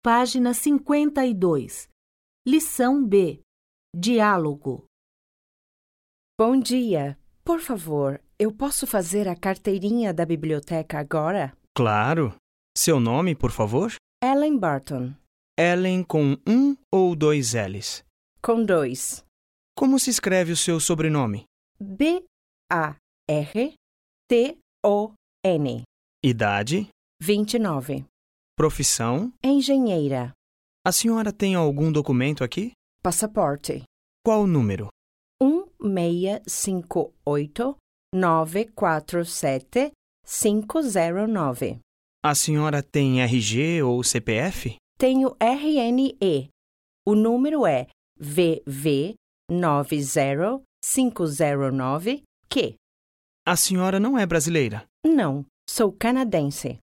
Página 52. Lição B. Diálogo. Bom dia. Por favor, eu posso fazer a carteirinha da biblioteca agora? Claro. Seu nome, por favor? Ellen Barton. Ellen com um ou dois L's? Com 2. Como se escreve o seu sobrenome? B-A-R-T-O-N. Idade? 29. Profissão? Engenheira. A senhora tem algum documento aqui? Passaporte. Qual o número? 1658947-509. A senhora tem RG ou CPF? Tenho RNE. O número é VV90509Q. A senhora não é brasileira? Não, sou canadense.